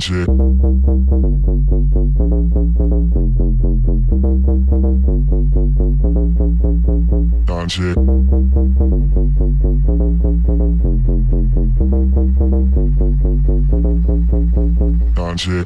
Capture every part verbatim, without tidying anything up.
danger. Danger. Danger.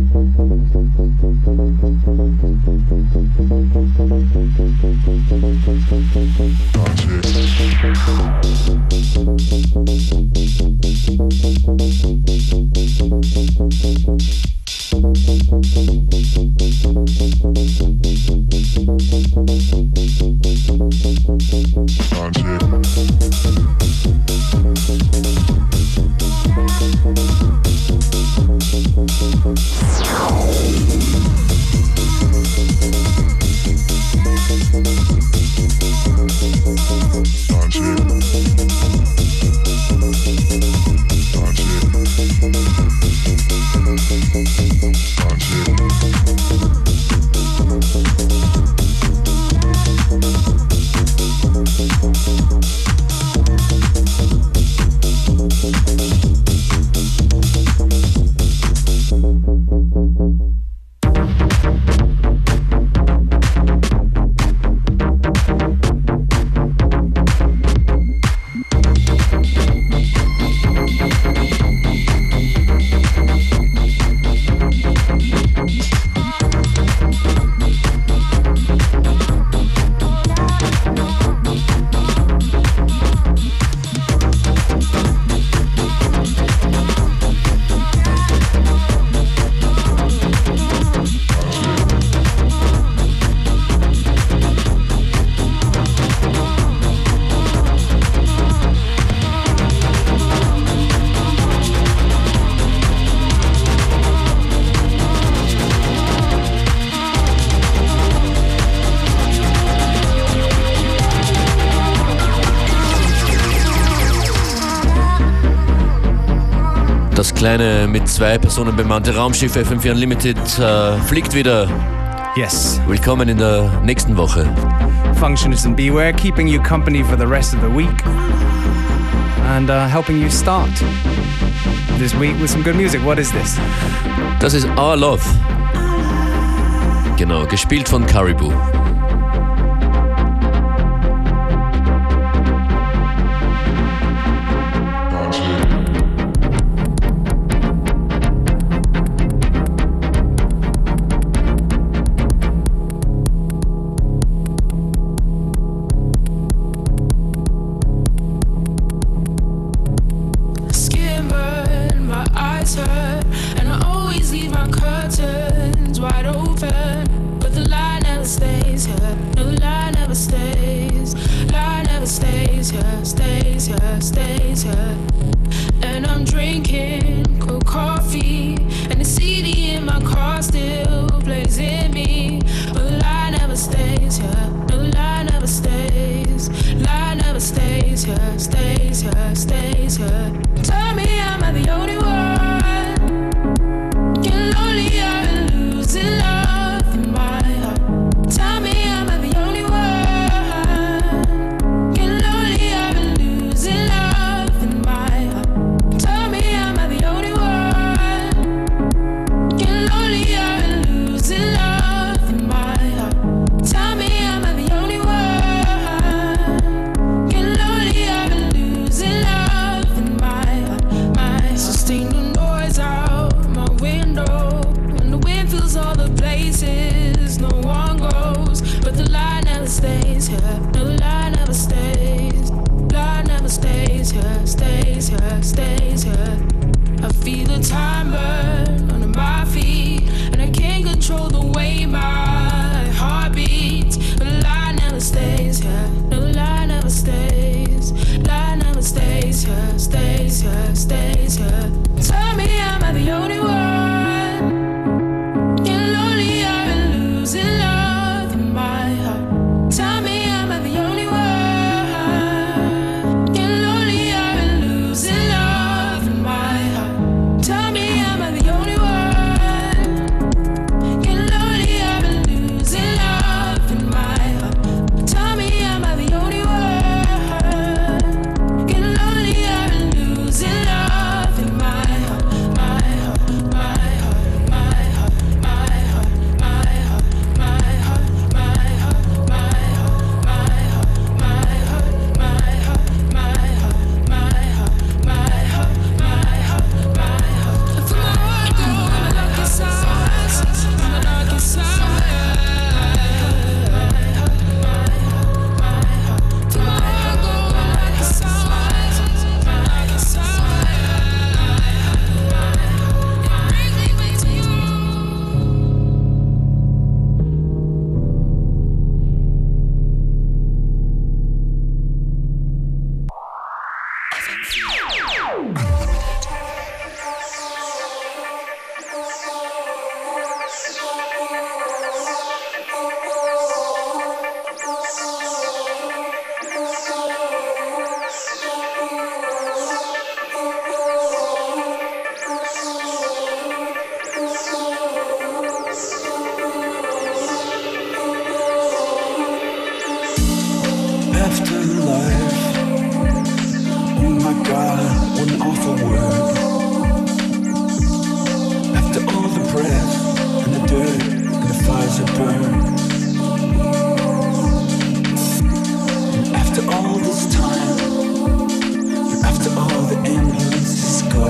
Das kleine, mit zwei Personen bemannte Raumschiff F M vier Unlimited äh, fliegt wieder. Yes. Willkommen in der nächsten Woche. Functionist and Beware, keeping you company for the rest of the week and uh, helping you start this week with some good music. What is this? Das ist Our Love. Genau, gespielt von Caribou. Tell me I'm the I wouldn't offer word. After all the breath and the dirt and the fires that burn. And after all this time, and after all the ambulances go,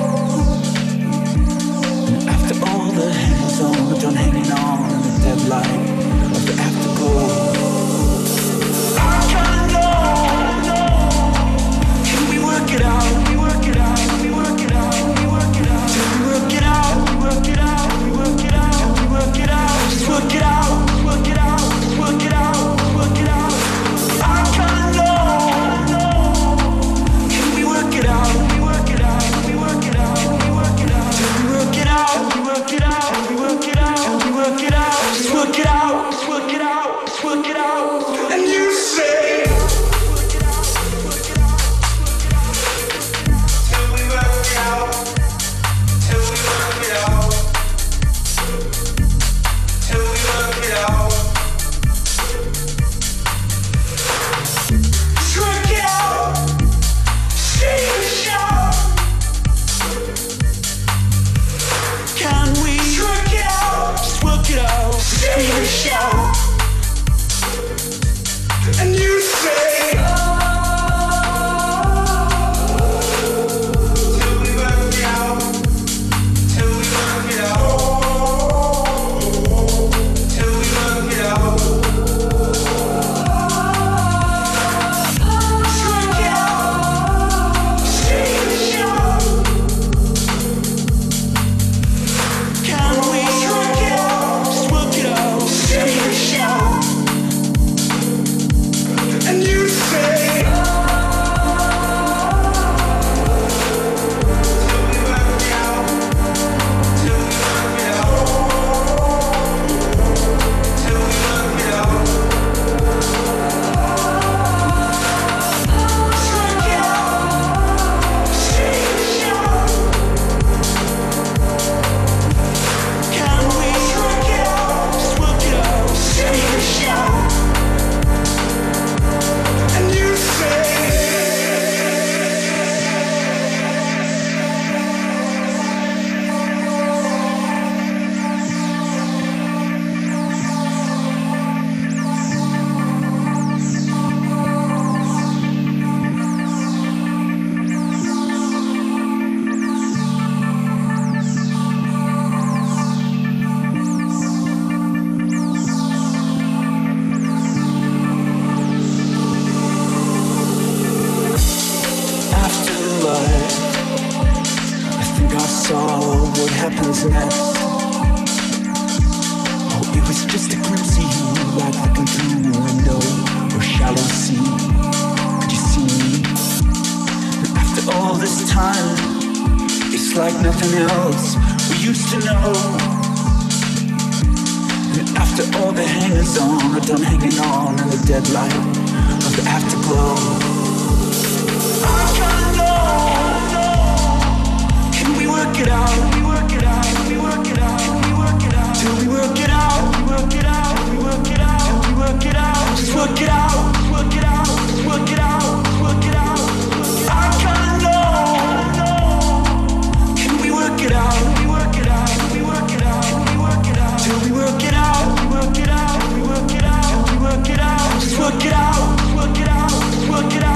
and after all the hangers on, done hanging on in the dead light of the afterglow. I kinda know. Can we work it out? We work it out. We work it out. We work it out. Till we work it out. We work it out. We work it out. We work it out. Just work it out. Work it out. Work it out. Work it out. I kinda know. Can we work it out? We work it out. We work it out. We work it out. Till we work it out. We work it out. We work it out. We work it out. Just work it out. Just work it out. Just work it out. And you say. And you say, till we work it out, till we work it out, till we work it out. Work it out, see the show. Can we work it out, just work it out, see the show. And you say, till we work it out, till we work it out, till we work it out. Work it out, see the show. Can we work it out, just work it out, see the show. And you say, afterlife, I think I saw what happens next. Oh, it was just a glimpse of you, like looking through a window or shallow sea. Could you see me? And after all this time, it's like nothing else we used to know. And after all the hangers on are done hanging on in the dead light of the afterglow. I kinda know. Can we work it out? We work it out. We work it out. We work it out. Till we work it out. We work it out. We work it out. We work it out. Just work it out. Work it out. Work it out. Work it out. I kinda know. Can we work it out? We work it out. We work it out. We work it out. Till we work it out. We work it out. We work it out. We work it out. Just work it out. Work it out. Work it out.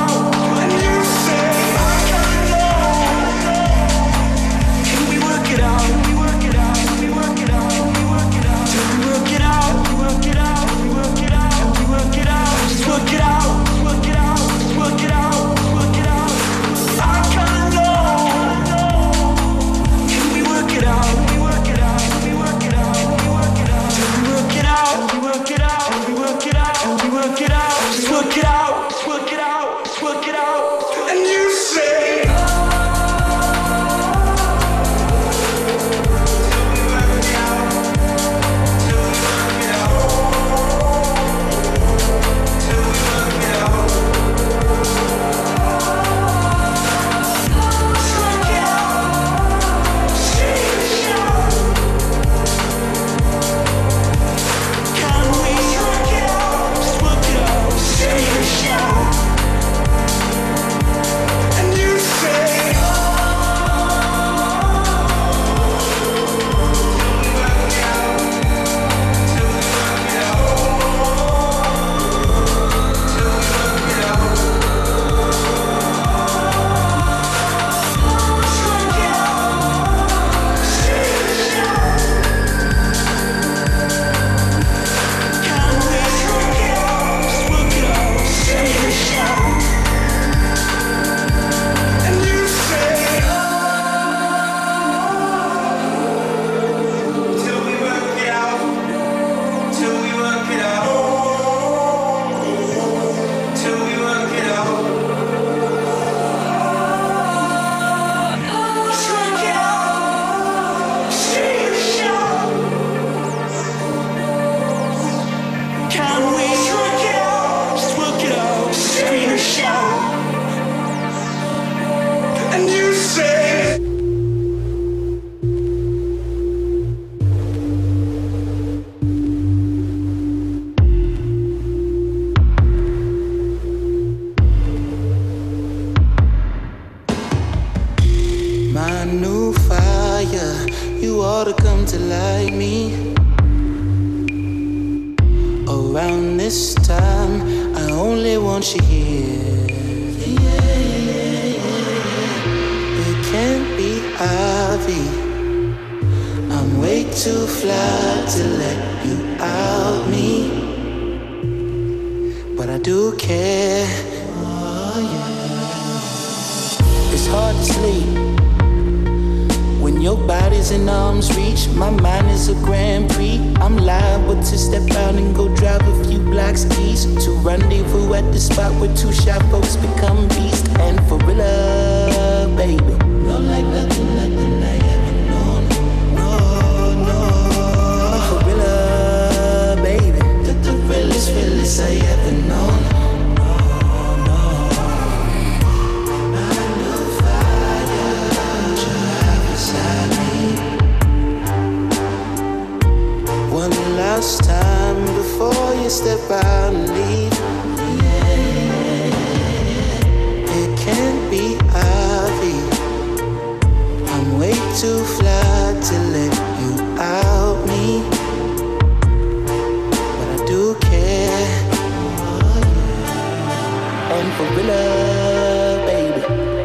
to come to like me. Around this time, I only want you here. It can't be Ivy. I'm way too fly to let you out me. But I do care. Oh, yeah. It's hard to sleep when your body's in arm's reach. My mind is a Grand Prix. I'm liable to step out and go drive a few blocks east to rendezvous at the spot where two shy folks become beasts. And for real, baby, no like nothing, nothing I ever known. No, no, for real, baby, the, the realest, realest I ever known. Last time before you step out and leave. It can't be Ivy. I'm way too fly to let you out me. But I do care. And for real, baby,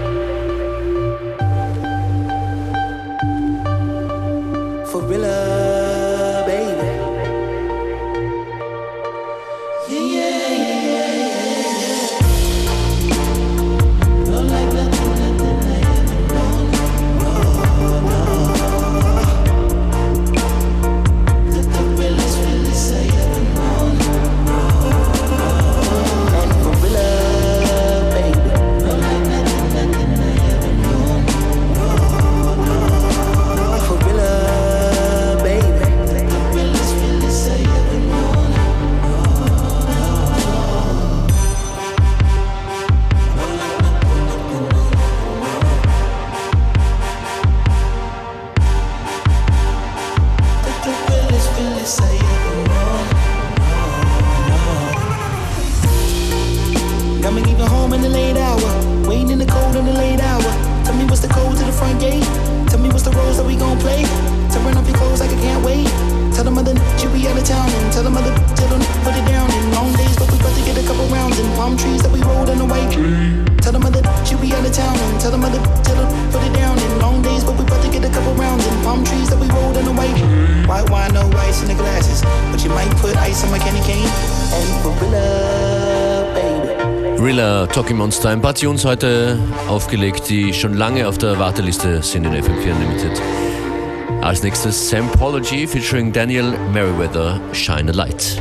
for real. Talking Monster, ein paar Tunes heute aufgelegt, die schon lange auf der Warteliste sind in F M vier Unlimited. Als nächstes Sampology featuring Daniel Merriweather, Shine a Light.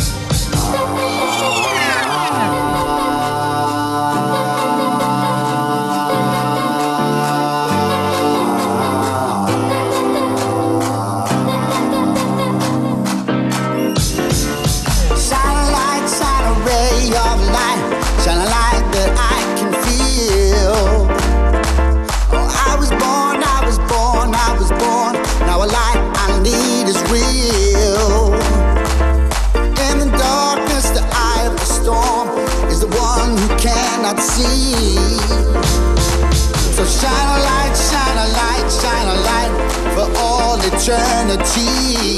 See. So shine a light, shine a light, shine a light for all eternity.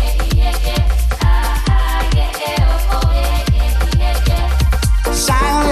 Shine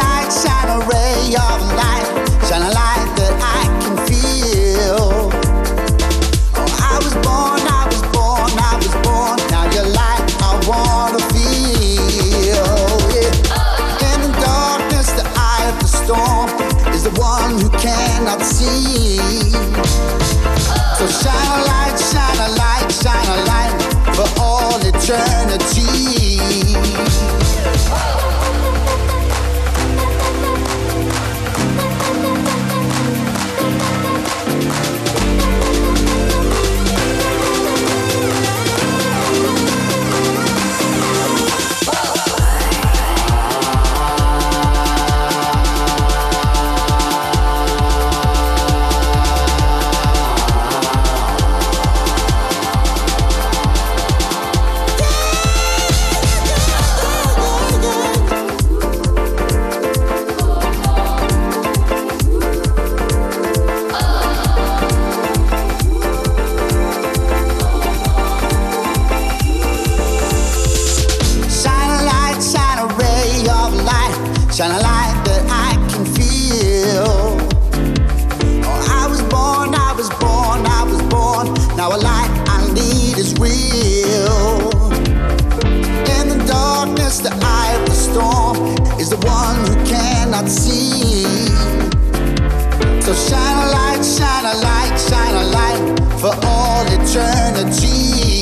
eternity.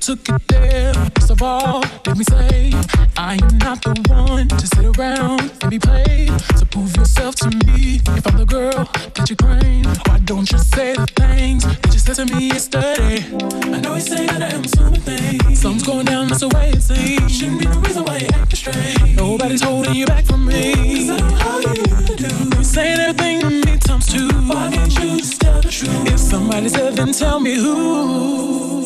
took it there. First of all, let me say, I am not the one to sit around and be played. So prove yourself to me. If I'm the girl that you claim, why don't you say the things that you said to me yesterday? I know you say that I am something. Something's going down, that's the way it seems. Shouldn't be the reason why you're acting strange. Nobody's holding you back from me. Cause I know how you do. You're saying everything to me times two. Why can't you just tell the truth? If somebody said, then tell me who.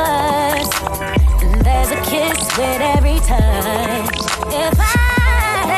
with every touch. If I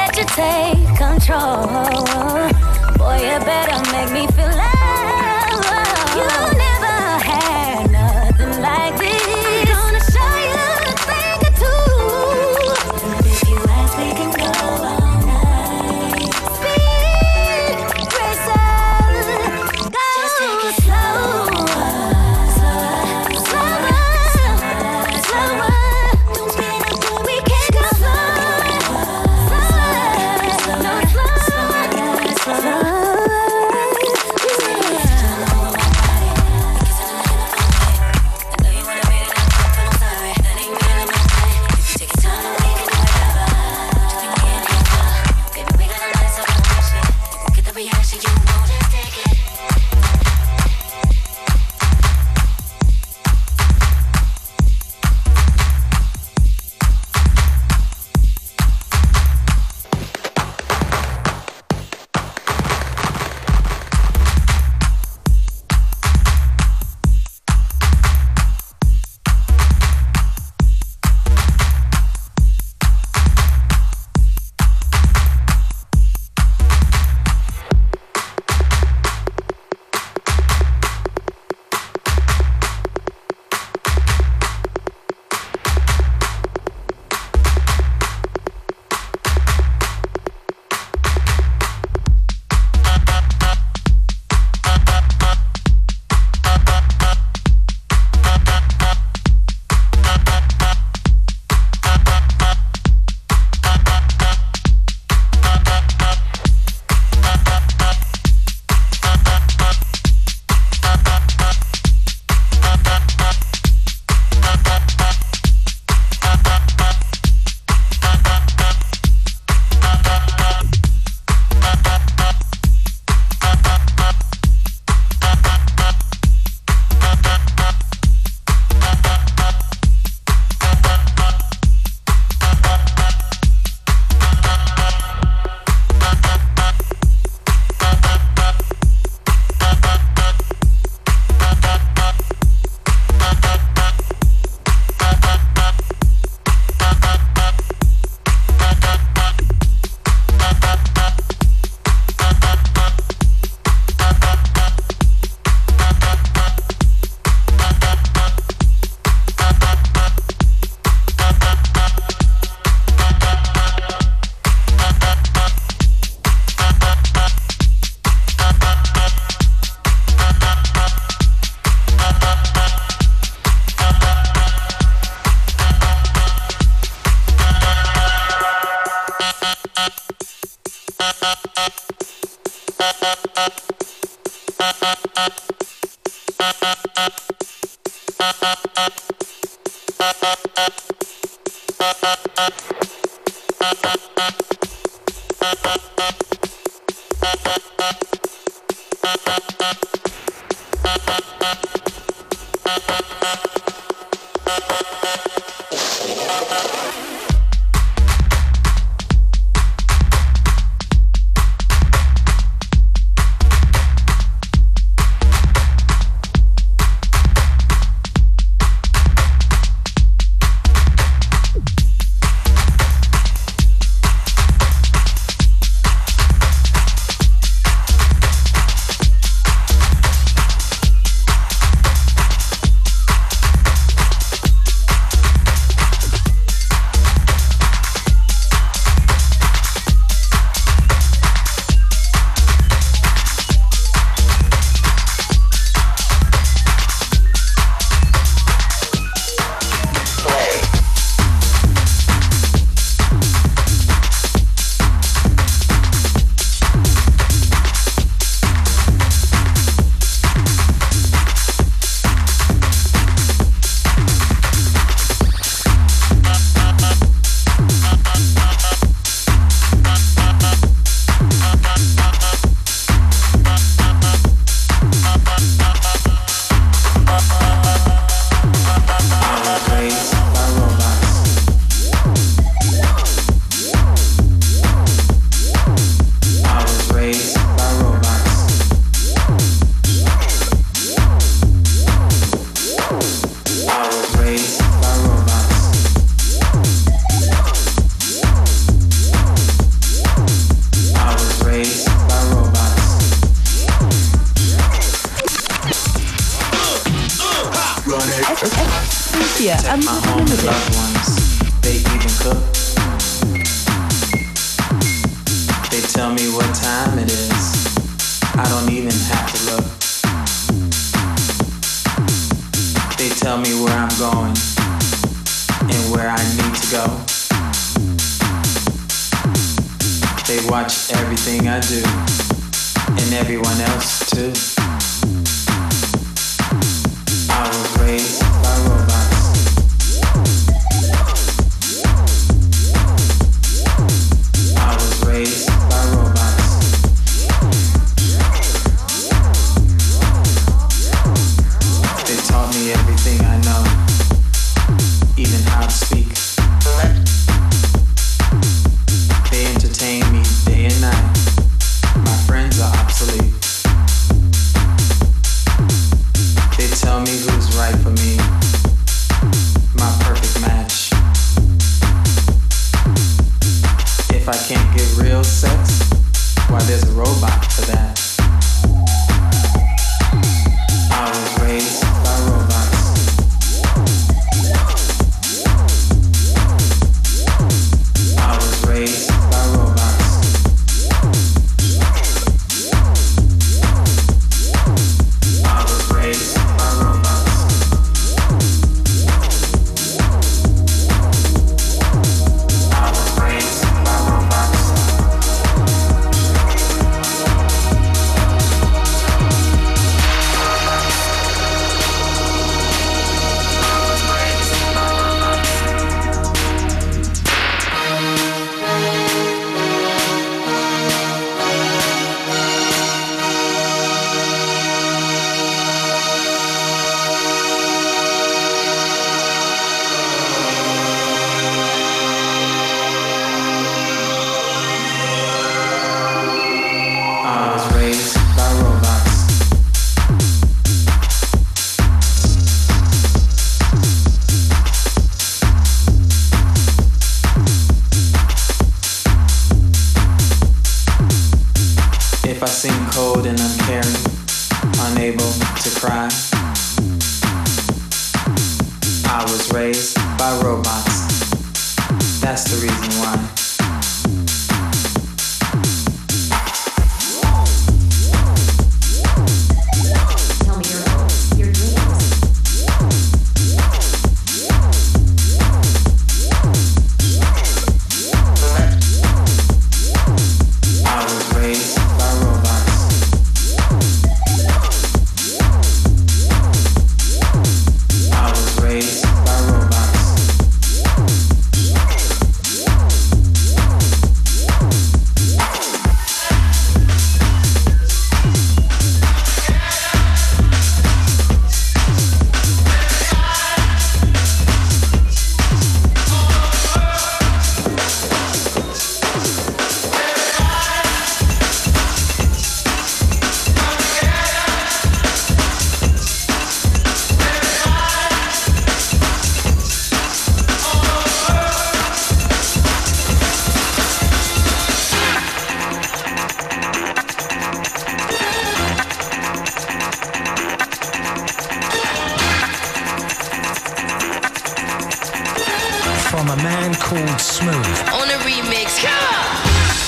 called Smooth. On a remix, yeah!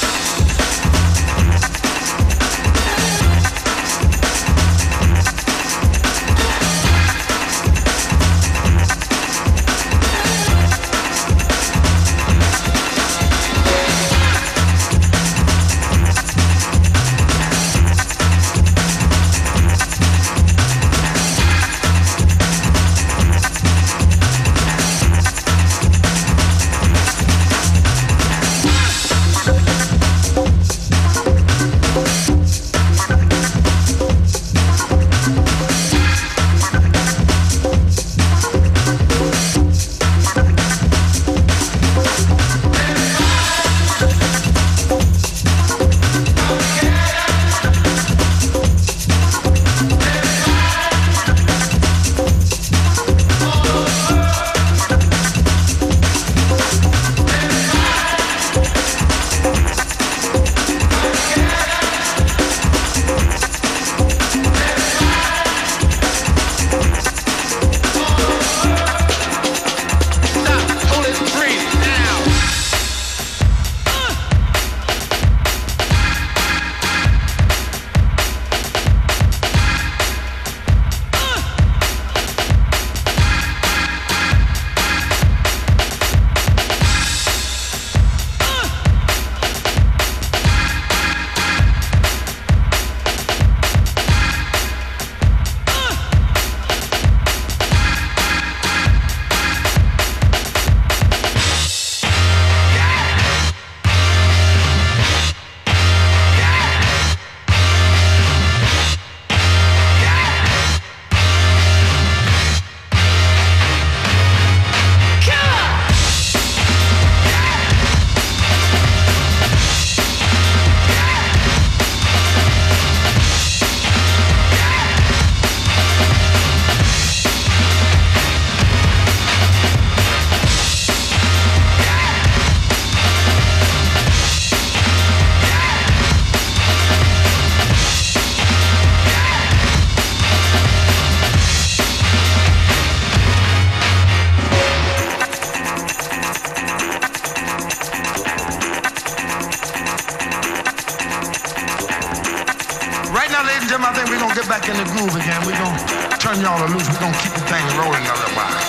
I think we're gonna get back in the groove again. We're gonna turn y'all loose. We're gonna keep the thing rolling a little while.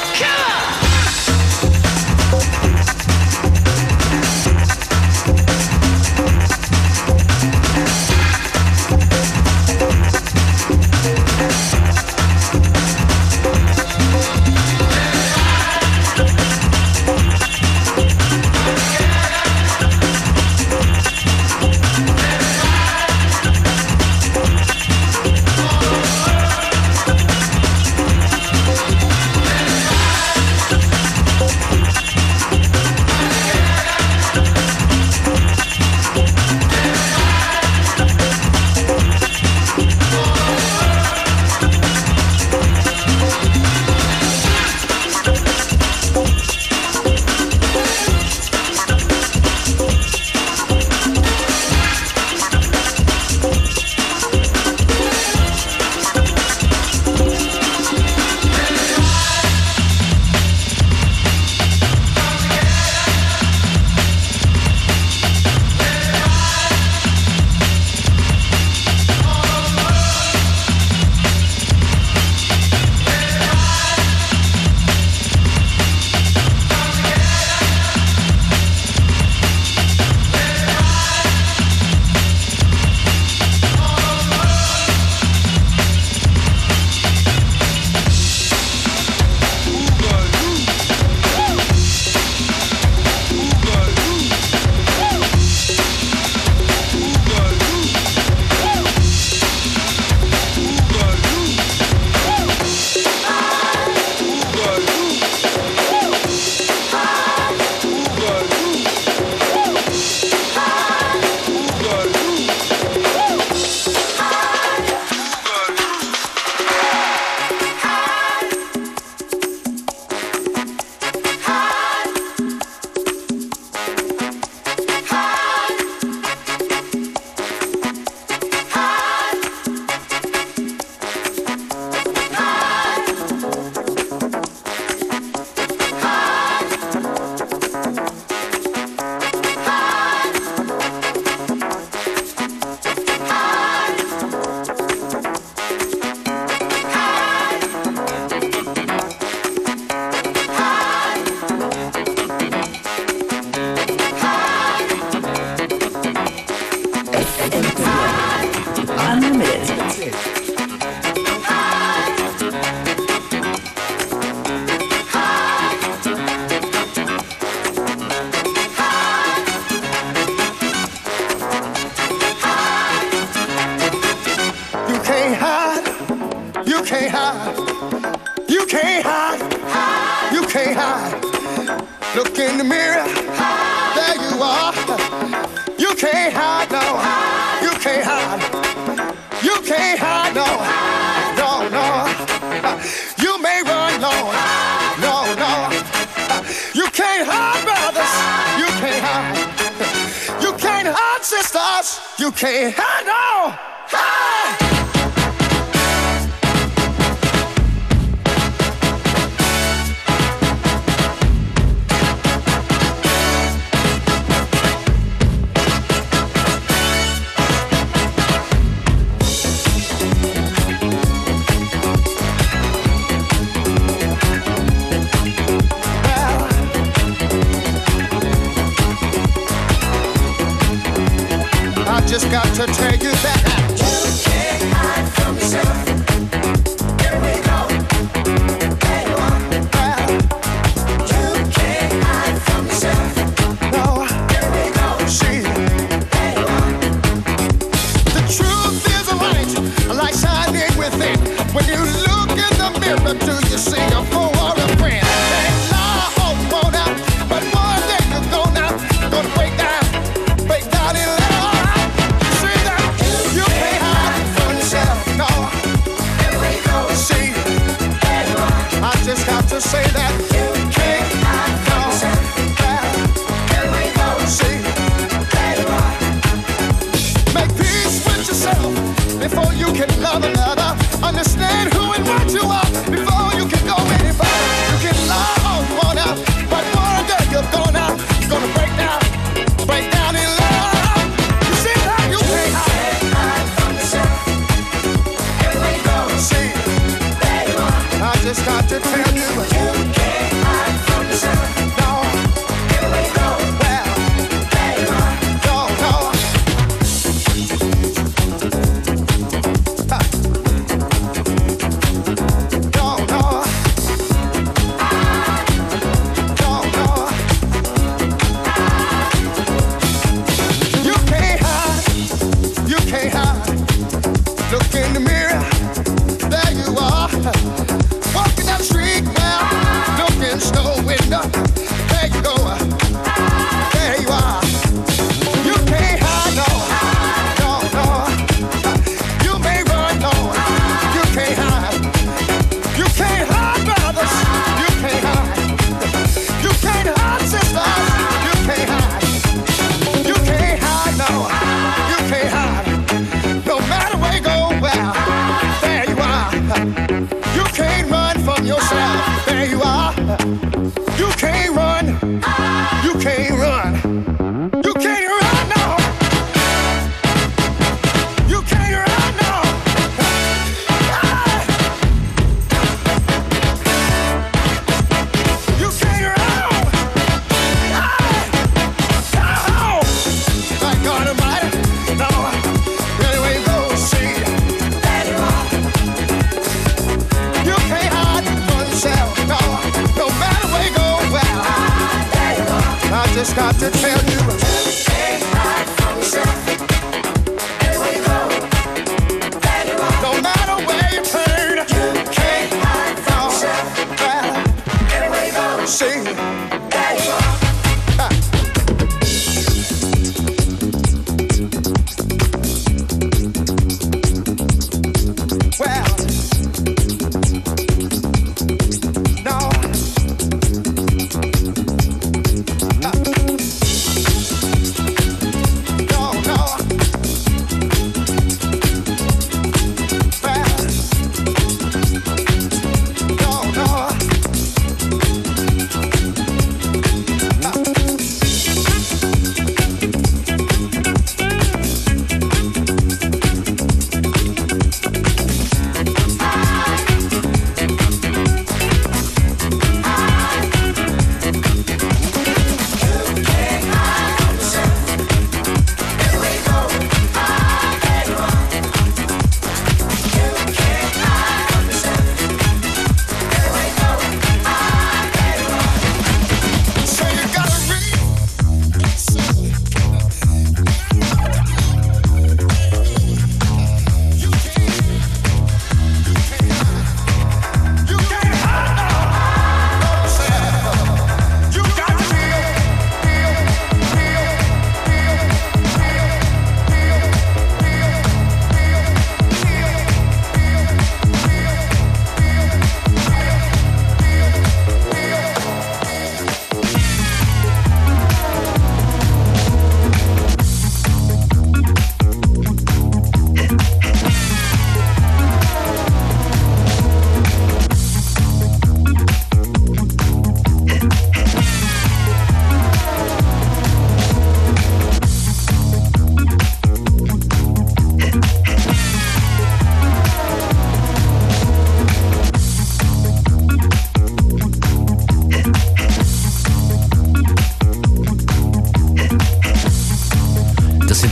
You can't hide. You can't hide. You can't hide. Look in the mirror. There you are. You can't hide, no. You can't hide. You can't hide, no. No, no. You may run long. No, no. You can't hide, brothers. You can't hide. You can't hide, sisters. You can't hide, no. Hide. Just got to tell you that you can't hide from yourself. Here we go. There you are. Well, you can't hide from yourself. No. Here we go. See. There you are. The truth is a light, a light shining within. When you look in the mirror, do you see a fool or a friend? They lie all thrown out, but one day you're gonna, gonna break down, break down in love. Just got to say that you can't hide from yourself. Here we go. See, there you are. Make peace with yourself before you can love another. Understand who and what you are before you can go any further. You can lie all you want out, but one day you're gonna, gonna break down, break down in love. You see that you can't hide from yourself. Here we go. See, there you are. I just got to tell you, you can't hide from yourself. No, here we go. Well, there you are. No, no. Ha. No, no. No, no. You can't hide. You can't hide. Look in the mirror. There you are. Walking down the street now, looking store window. There you go, there you are. You can't hide, no, no, no. You may run, no, you can't hide. You can't hide, brothers. You can't hide. You can't hide, sisters. You can't hide. You can't hide, no, you can't hide. No matter where you go, well, there you are. You can't run from yourself. There you are. You can't run. You can't run. You can't run, no. You can't run, no. You can't run. No. My God Almighty. No. Anyway, go see. There you are. You can't hide from yourself, no. No matter where you go, well, I just got to tell you, you can't hide from yourself. Here we go. There you are. No matter where you turn, you can't hide from yourself. Well, here we go. See, there you are. Well, no.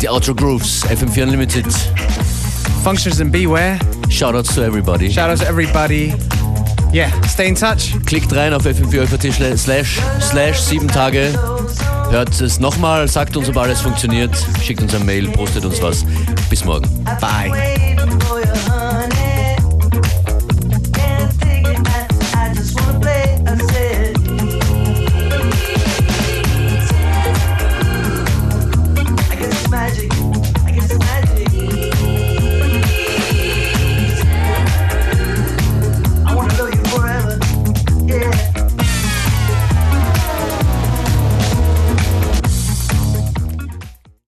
die Outro Grooves, F M vier Unlimited. Functions and beware. Shoutouts to everybody. Shoutouts to everybody. Yeah, stay in touch. Klickt rein auf f m vier slash slash sieben Tage. Hört es nochmal, sagt uns, ob alles funktioniert. Schickt uns eine Mail, postet uns was. Bis morgen. Bye.